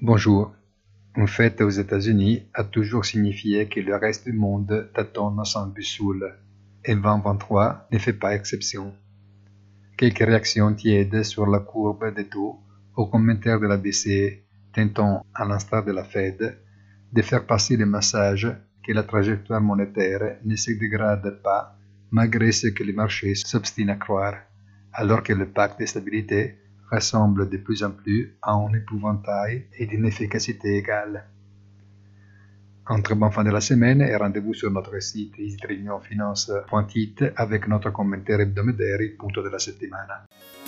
Bonjour. Une fête aux États-Unis a toujours signifié que le reste du monde tâtonne sans boussole, et 2023 ne fait pas exception. Quelques réactions tièdes sur la courbe des taux aux commentaires de la BCE tentant, à l'instar de la Fed, de faire passer le message que la trajectoire monétaire ne se dégrade pas malgré ce que les marchés s'obstinent à croire, alors que le pacte de stabilité ressemble de plus en plus à un épouvantail et d'une efficacité égale. Un très bon fin de la semaine et rendez-vous sur notre site easytrionfinance.it avec notre commentaire hebdomadaire il punto della settimana.